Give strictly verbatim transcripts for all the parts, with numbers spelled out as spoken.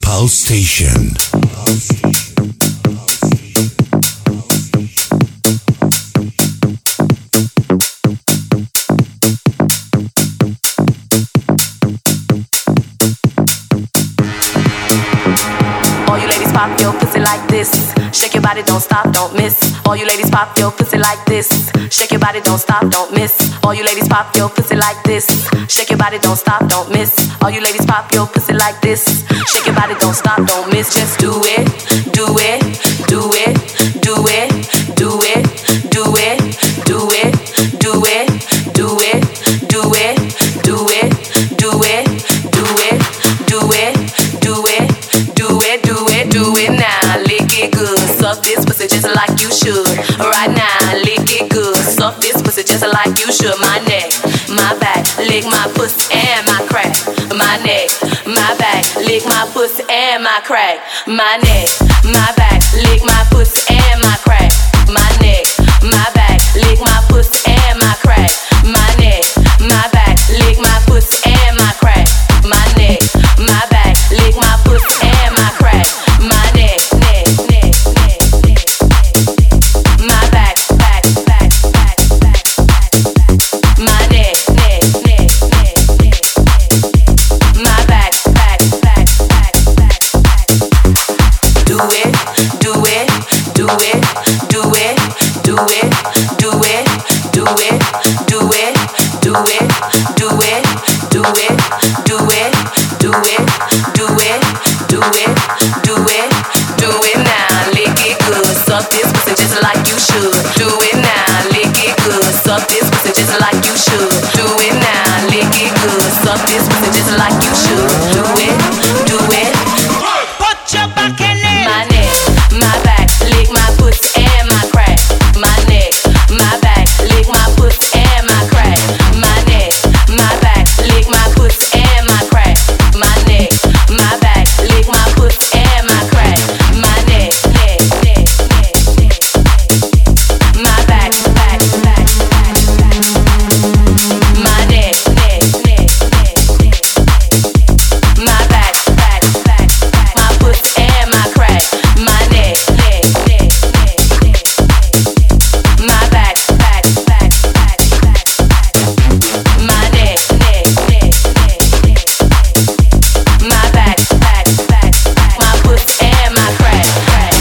House Station. Pop your pussy like this. Shake your body, don't stop, don't miss. All you ladies pop your pussy like this. Shake your body, don't stop, don't miss. All you ladies pop your pussy like this. Shake your body, don't stop, don't miss. All you ladies pop your pussy like this. Shake your body, don't stop, don't miss. Just do it, do it, do it, do it, do it, do it, do it, do it, do it, do it, do it, do it, do it, do it, do it, do it, do it, do it now. Lick it good, suck this pussy just like you should. Right now, lick it good, suck this pussy just like you should. My neck, my back, lick my pussy and my crack. My neck, my back, lick my pussy and my crack. My neck, my back, lick my pussy and my crack. My neck, my back, lick my pussy and my crack. My neck, my back, lick my pussy and my crack. My neck, my back, lick my pussy and my crack. My neck, neck, neck, neck, neck. My back, back, back, back, back, back, back. My neck, neck, neck, neck, neck, neck. My back, back, back, back, back, back. Do it, do it, do it, do it, do it, do it, do it, do it, do it, do it, do it, do it, do it, do it, do it, do it, do it now. Lick it good, suck this pussy just like you should. Do it now, lick it good, suck this pussy just like you should. Do it now, lick it good, suck this pussy just like you should. Do it, do it. Put your back in it. My neck, my back, lick my pussy and my crack. My neck, my back, lick my pussy and my crack. My neck, my back, lick my pussy and my crack. My neck, my back, lick my pussy and my crack. My neck, neck, neck, neck, neck, neck. My back, back, back, back, back. My neck, neck, neck, neck, neck, neck. My back, back, back, back. My pussy and my crack. My neck, neck, neck, neck, neck, neck. My back, back, back, back, back, back. My neck, neck, neck, neck, neck, neck. My back, back, back, back. My pussy and my crack, crack.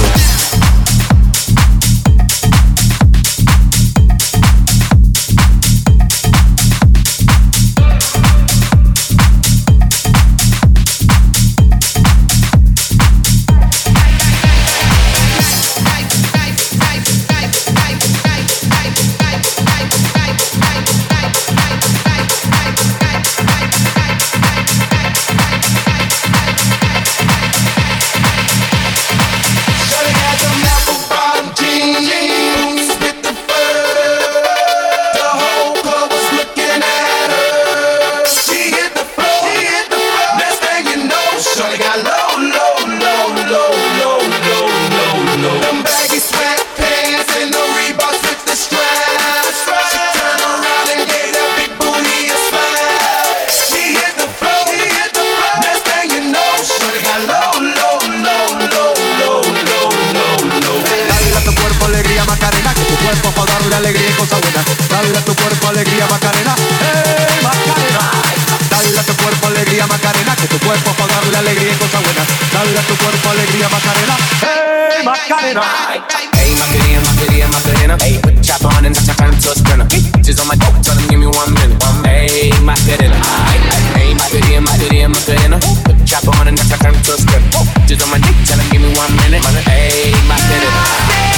Alegría y cosa buena, dale a tu cuerpo alegría Macarena, hey Macarena, dale a tu cuerpo alegría Macarena, que tu cuerpo para darle alegría y cosa buena, dale a tu cuerpo alegría Macarena, hey Macarena. Hey Macarena, Macarena, Macarena, hey put the chopper on and turn it to a sprinter. Just on my dope, tell them give me one minute. Hey Macarena, hey Macarena, Macarena, Macarena, put the chopper on and turn it to a sprinter. Just on my dick, tell them give me one minute. Hey Macarena.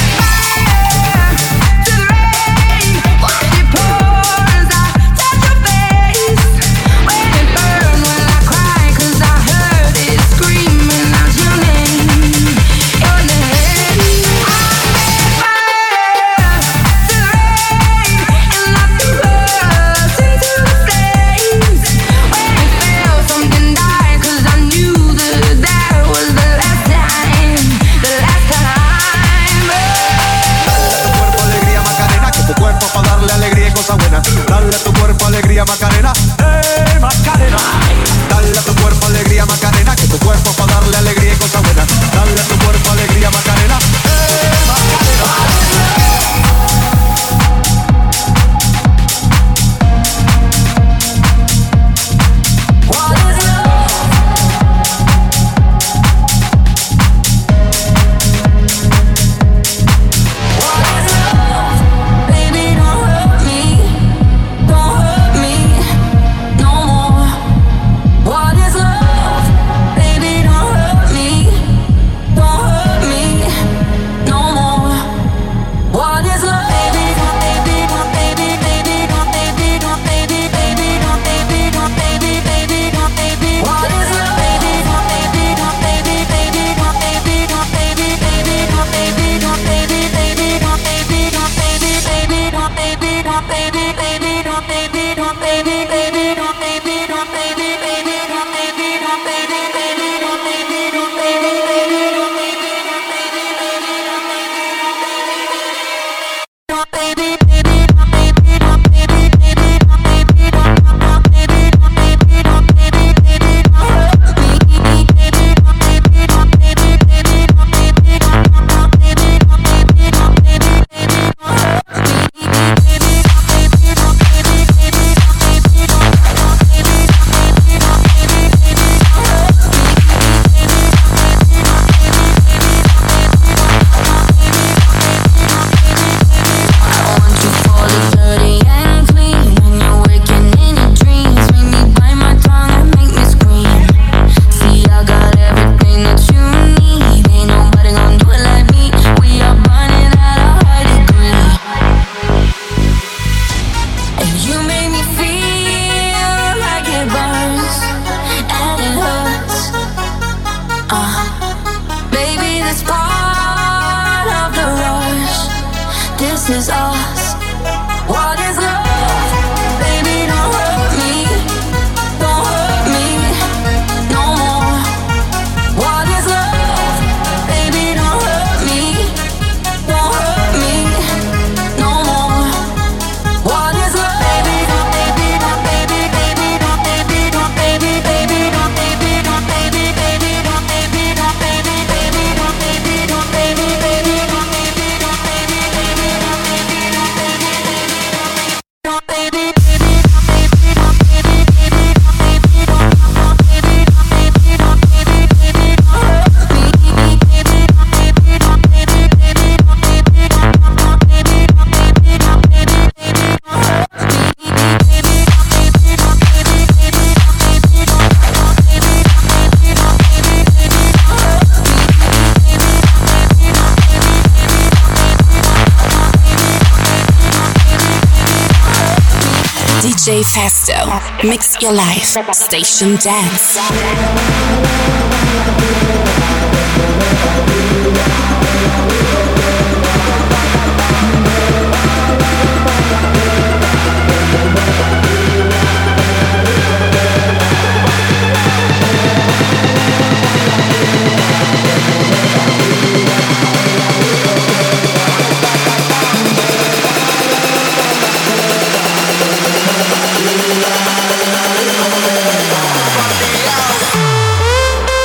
Something died, cause I knew that that was the last time, the last time. cosas buenas. Dale a tu cuerpo alegría, Macarena. ¡Eh, Macarena! D J Festo, mix your life, station dance. Yeah.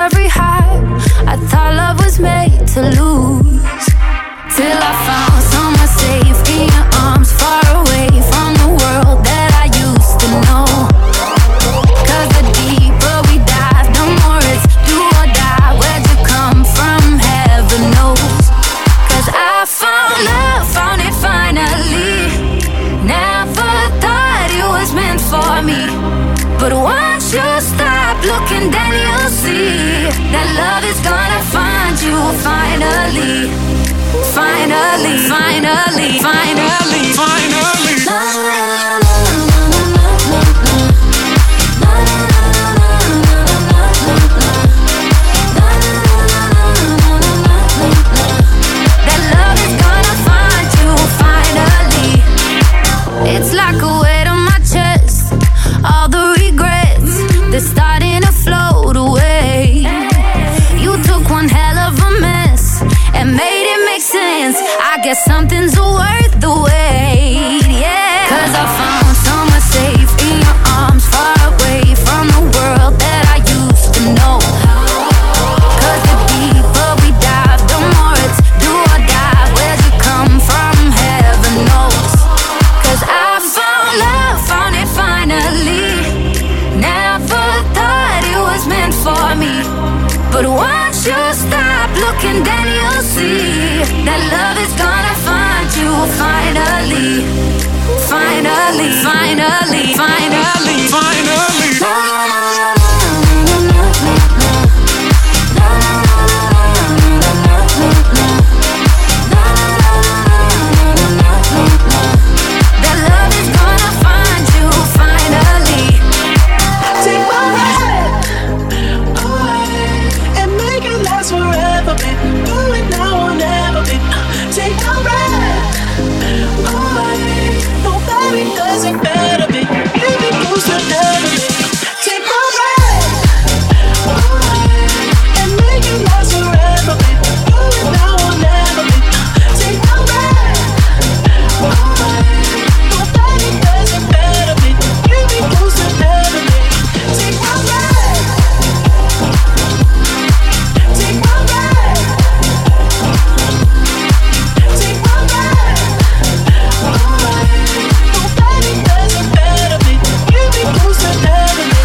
every high. I thought love was made to lose. Till I found someone safe in your arms, far away from the world that I used to know. Cause the deeper we dive, the more it's do or die. Where'd you come from? Heaven knows. Cause I found love, found it finally. Never thought it was meant for me. But once you stop looking, then you'll see that love is gonna find you finally. Finally, finally, finally, finally. La, la, la, la, la, la, la, la. That love is gonna find you finally. It's like a weight on my chest. All the regrets, they're starting to float away. You took one hell of a mess and made it make sense. I guess something's worth the wait, yeah. Cause I found someone safe in your arms, far away from the world that I used to know. Cause the deeper we dive, the more it's do or die. Where'd you come from? Heaven knows. Cause I found love, found it finally. Never thought it was meant for me. But once you stop looking, then you'll see that love is gonna find you finally. Finally, finally, finally, finally. La, la, la, la, la, la, la, la. La, la, la, la, la, la, la, la. La, la, la, la, la, la, la. That love is gonna find you finally. Take my hand away and make it last forever, babe. Do it now or never, babe. Take my breath away. Nobody does it better, babe. Give me close to never, babe. Take my breath away and make it last forever, babe. Do it now or never, babe. Take my breath away. Nobody does it better, babe. Give me close to never, babe. Take my breath. Take my breath. Take my breath away. Nobody does it better, babe. Give me close to never, babe.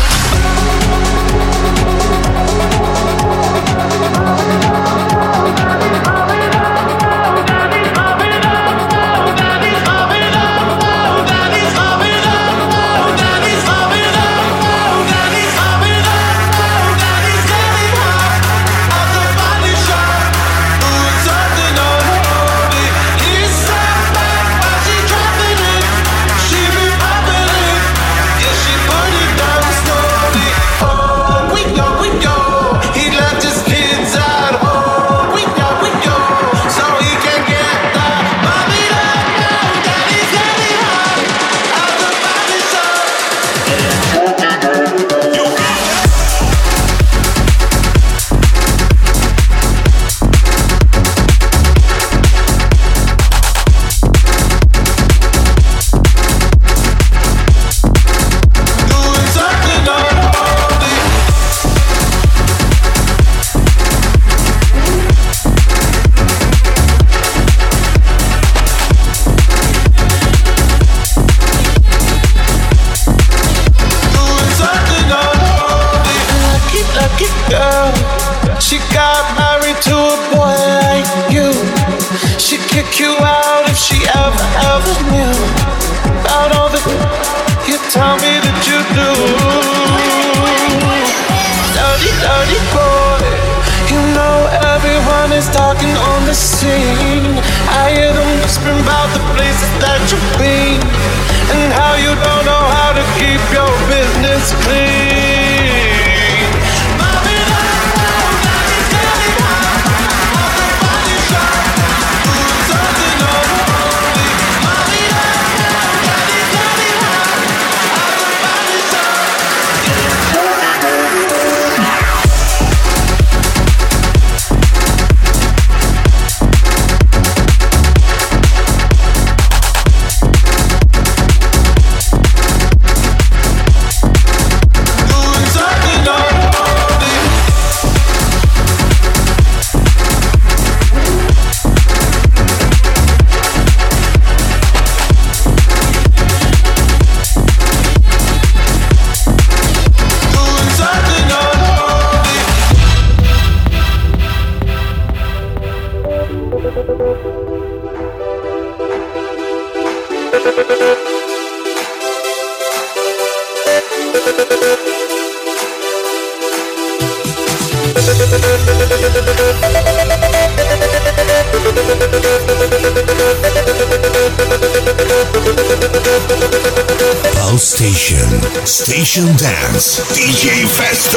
Pulse Station, Station Dance, D J Festo.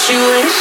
you wish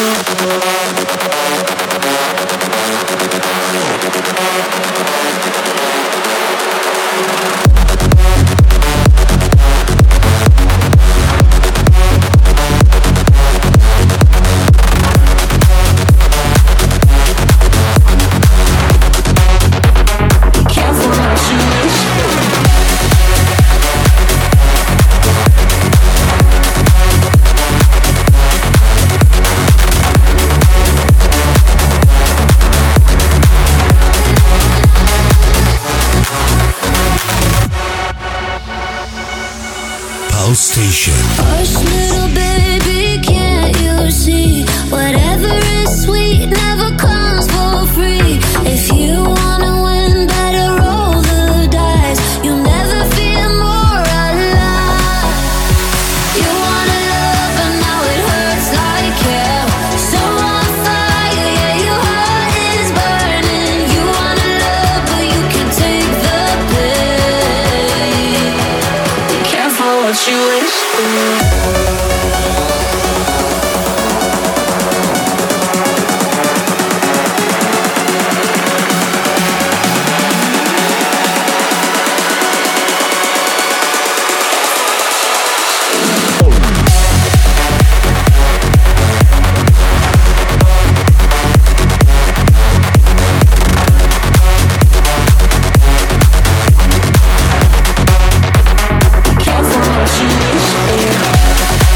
Station. Hush, little baby, can't you see? Whatever is sweet never comes for free. If you wanna win, better roll the dice. You'll never feel more alive. You wanna love, but now it hurts like hell. So on fire, yeah, your heart is burning. You wanna love, but you can take the pain. Be careful what you wish for. Careful what you wish for.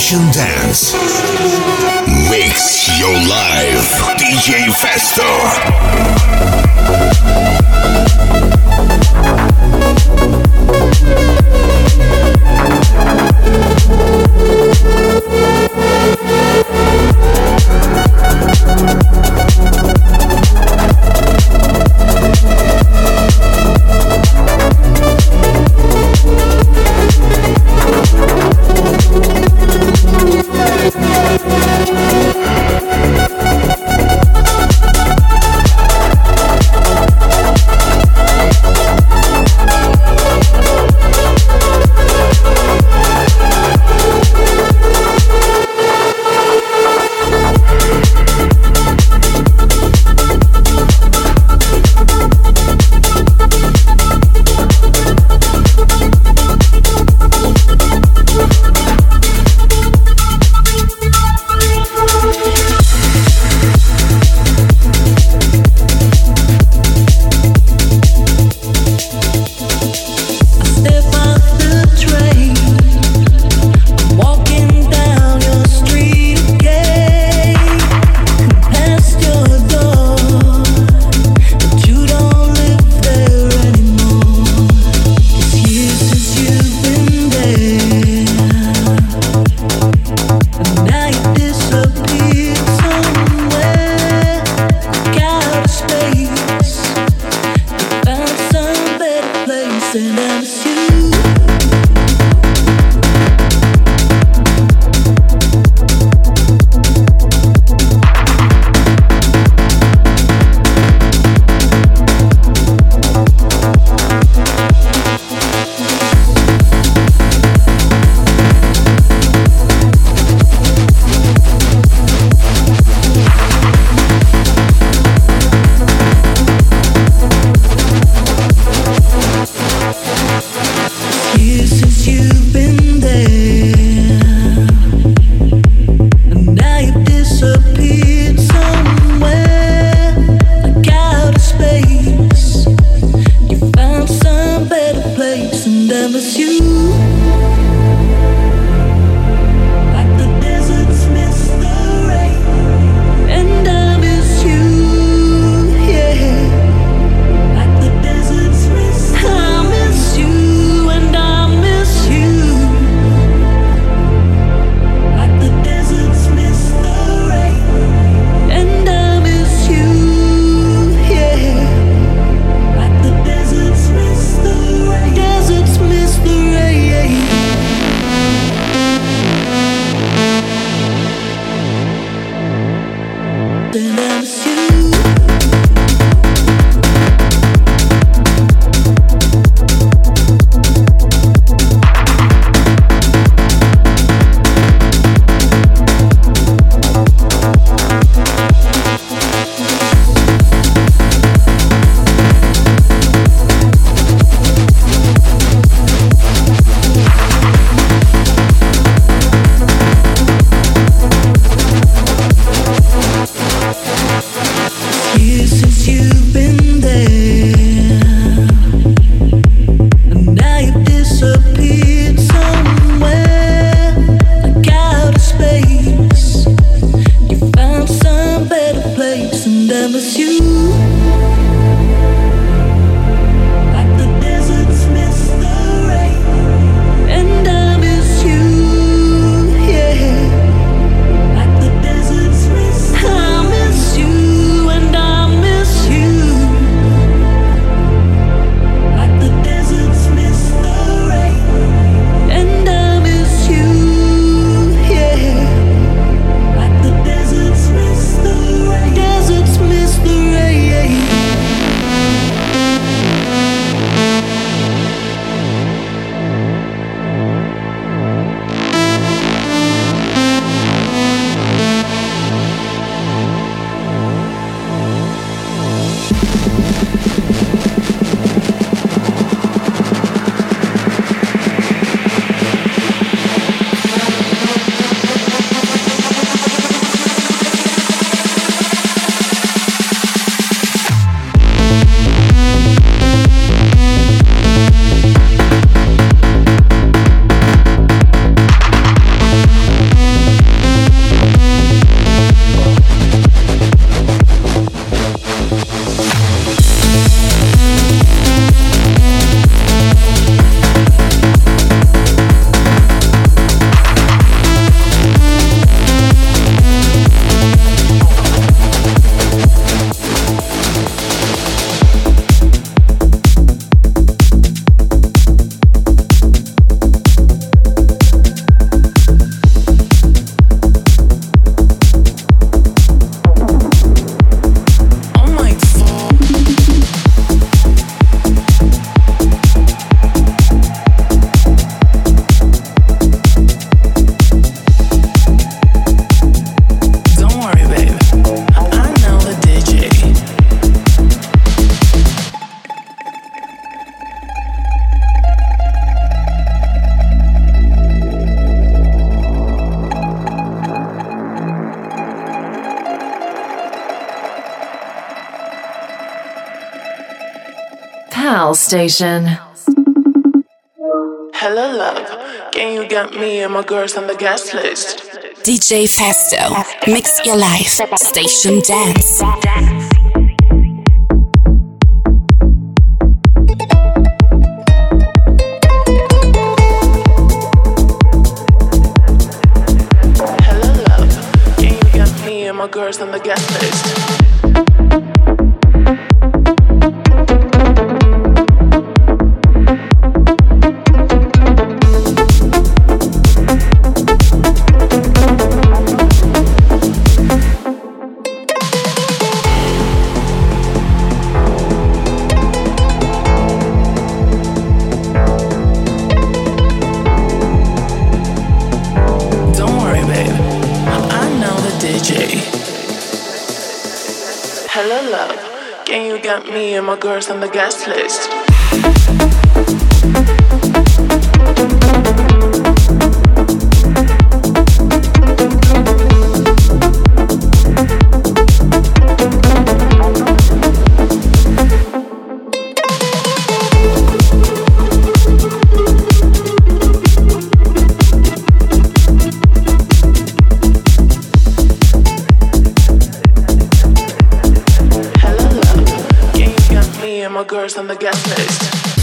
Station Dance. Mix your life. D J Festo. house station. Hello, love. Can you get me and my girls on the guest list? D J Festo, mix your life, station dance. Hello, love. Can you get me and my girls on the guest list? Hello, love. Can you get me and my girls on the guest list? My girls on the guest list.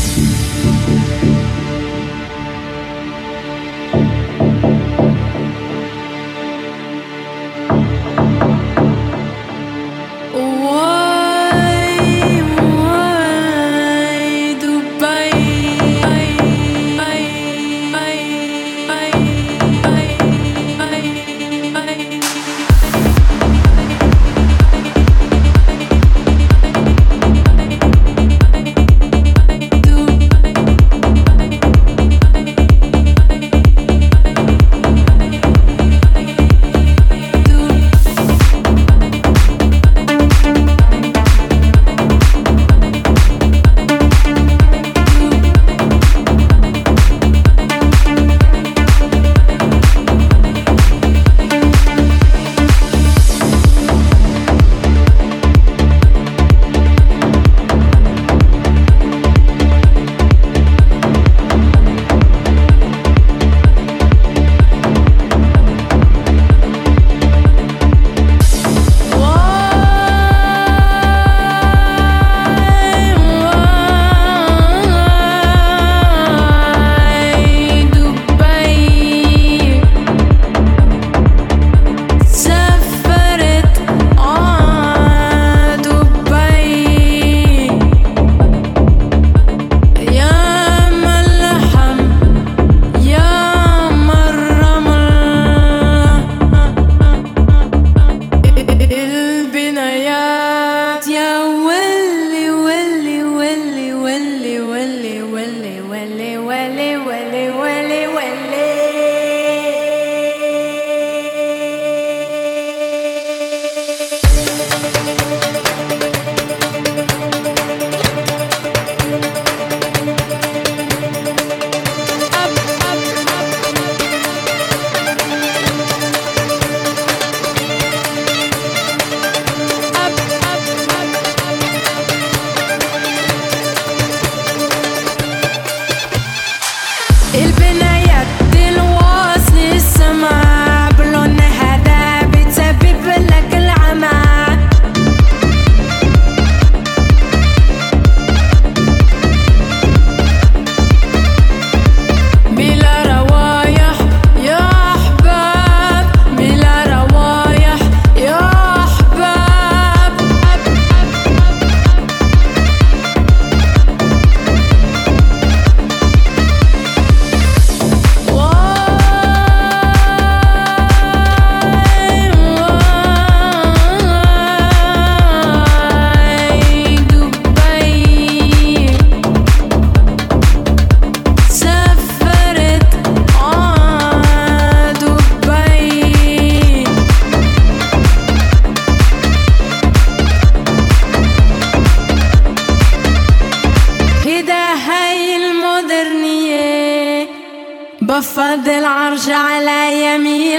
بفضل عرش على يمين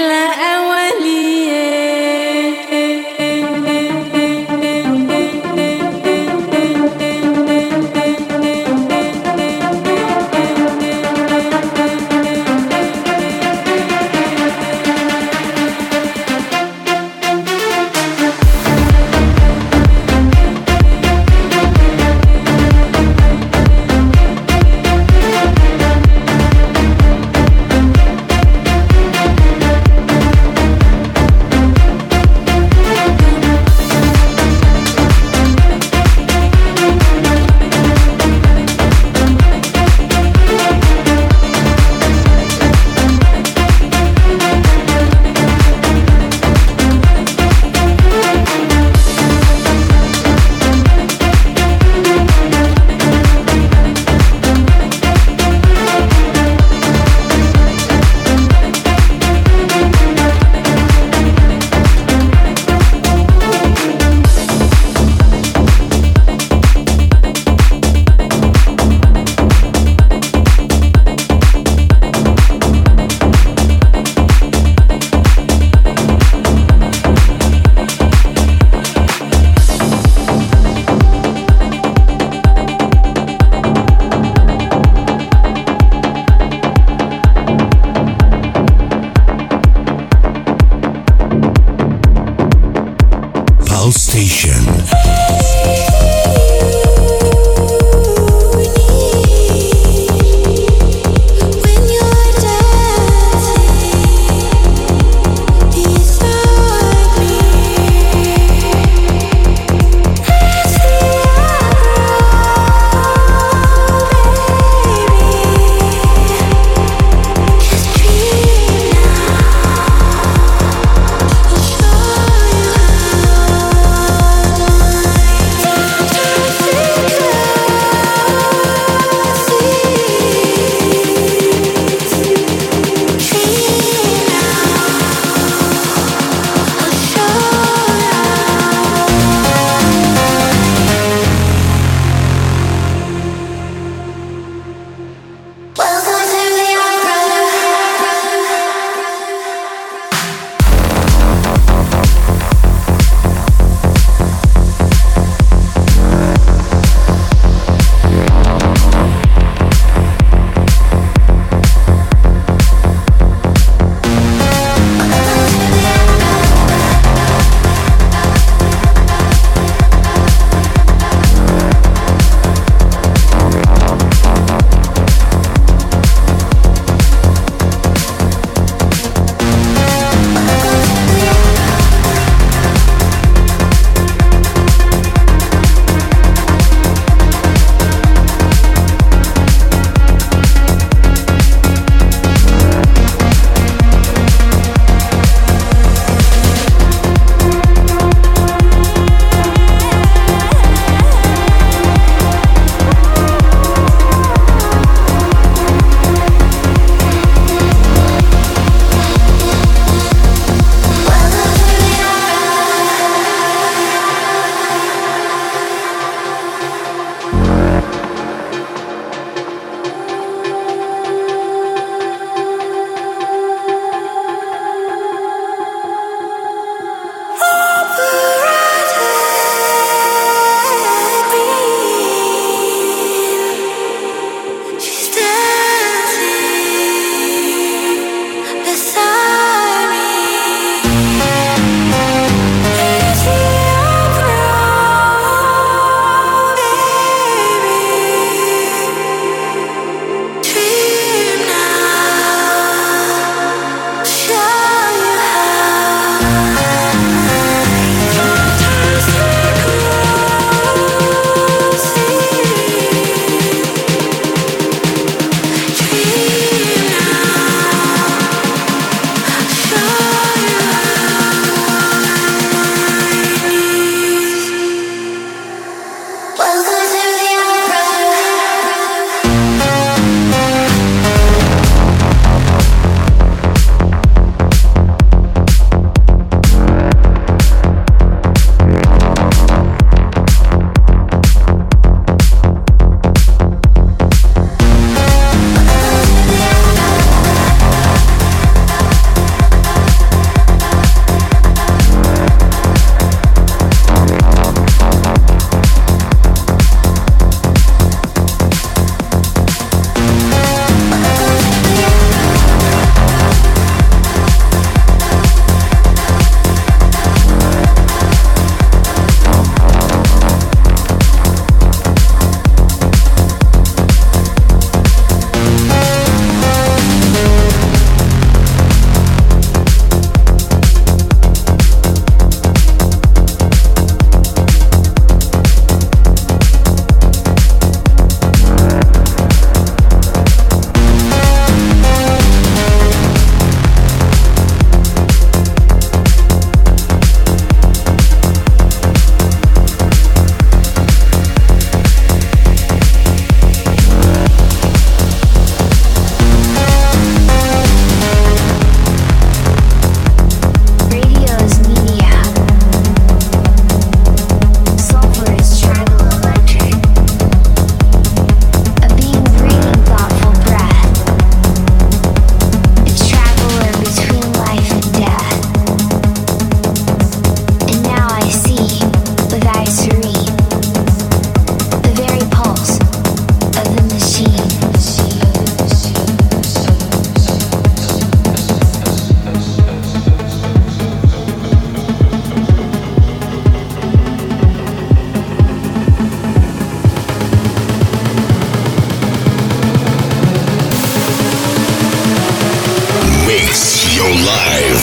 الأولية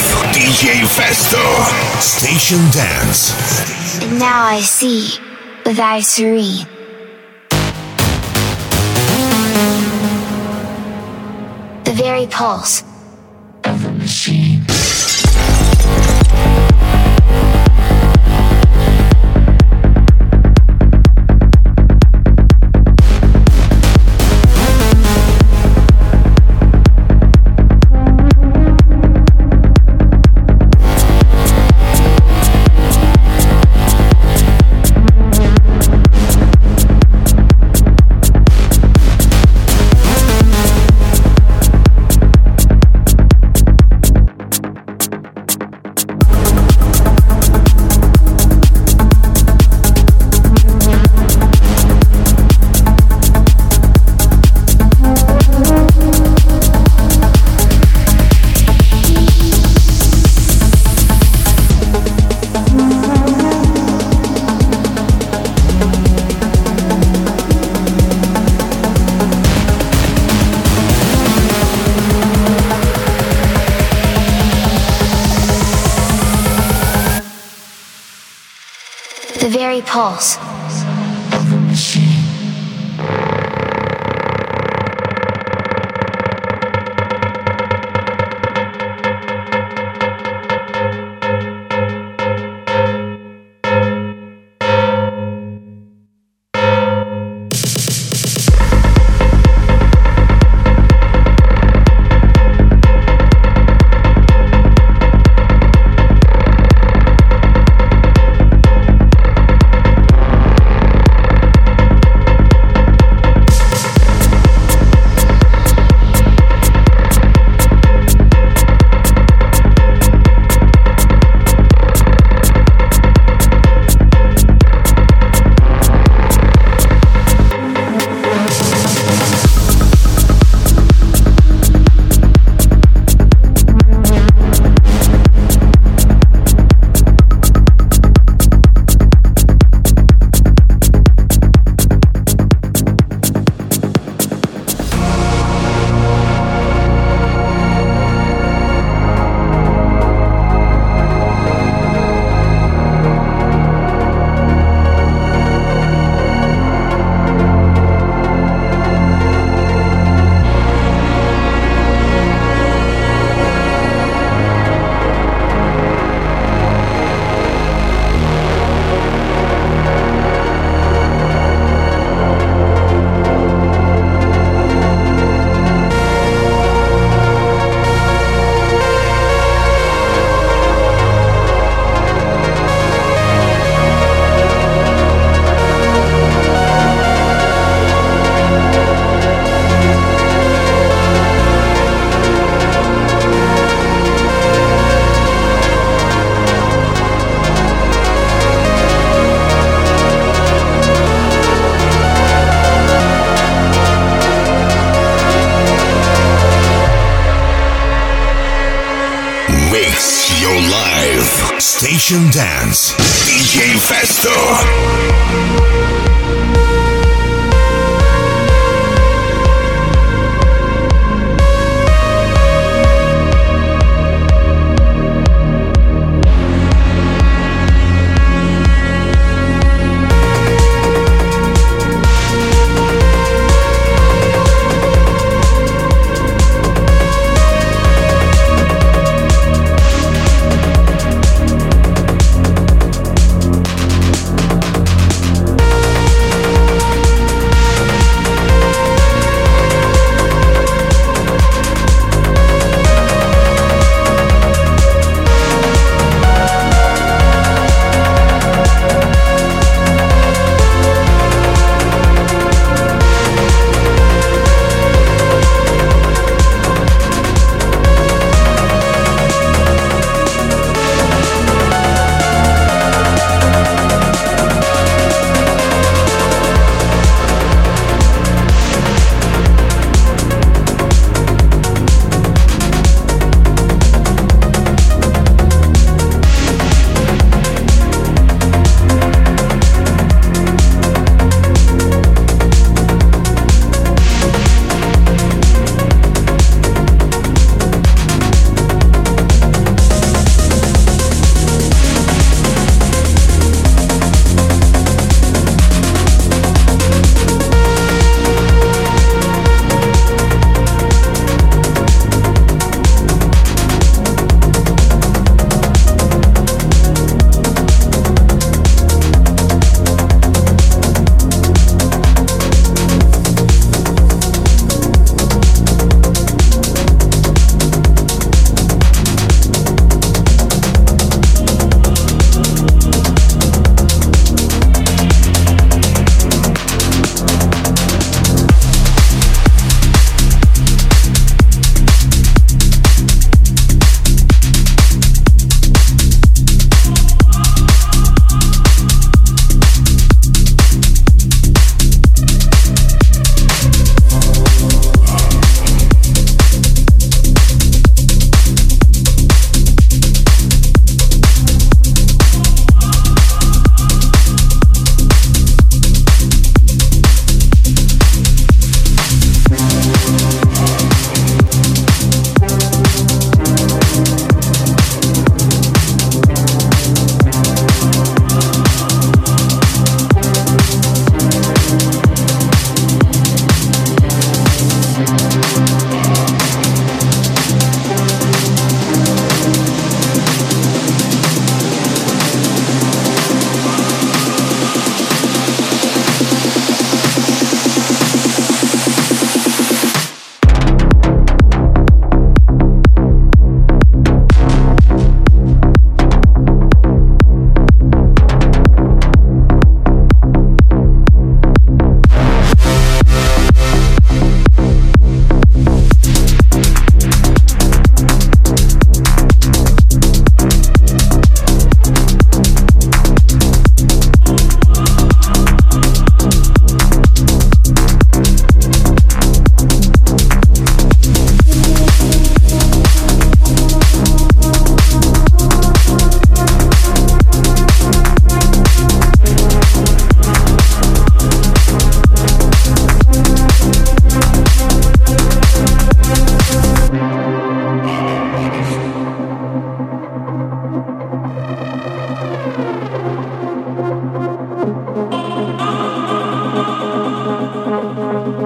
D J Festo, Station Dance. And now I see with eyes serene. The very pulse of the machine. The very pulse of the machine. Station Dance, D J Festo.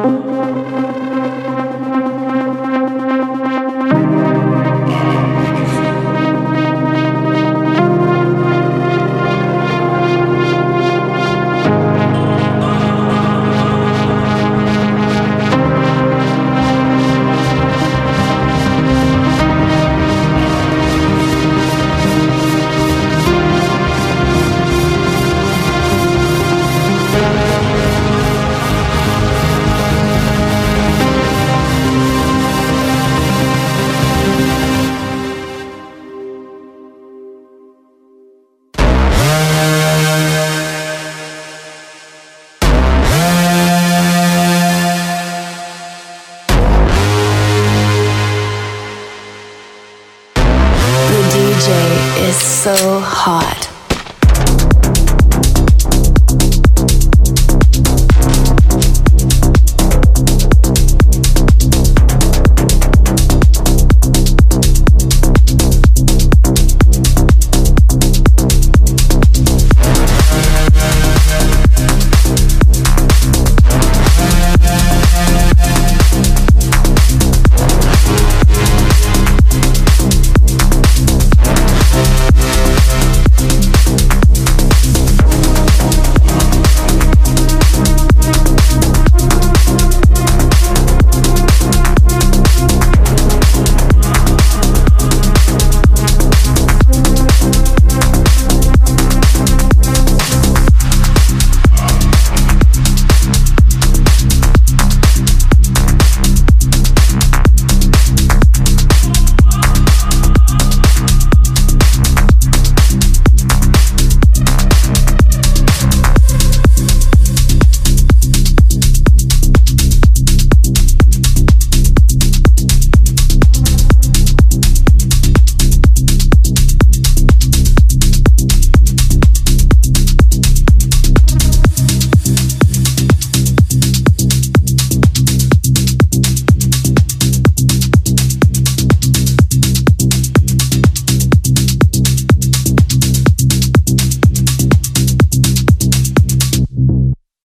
So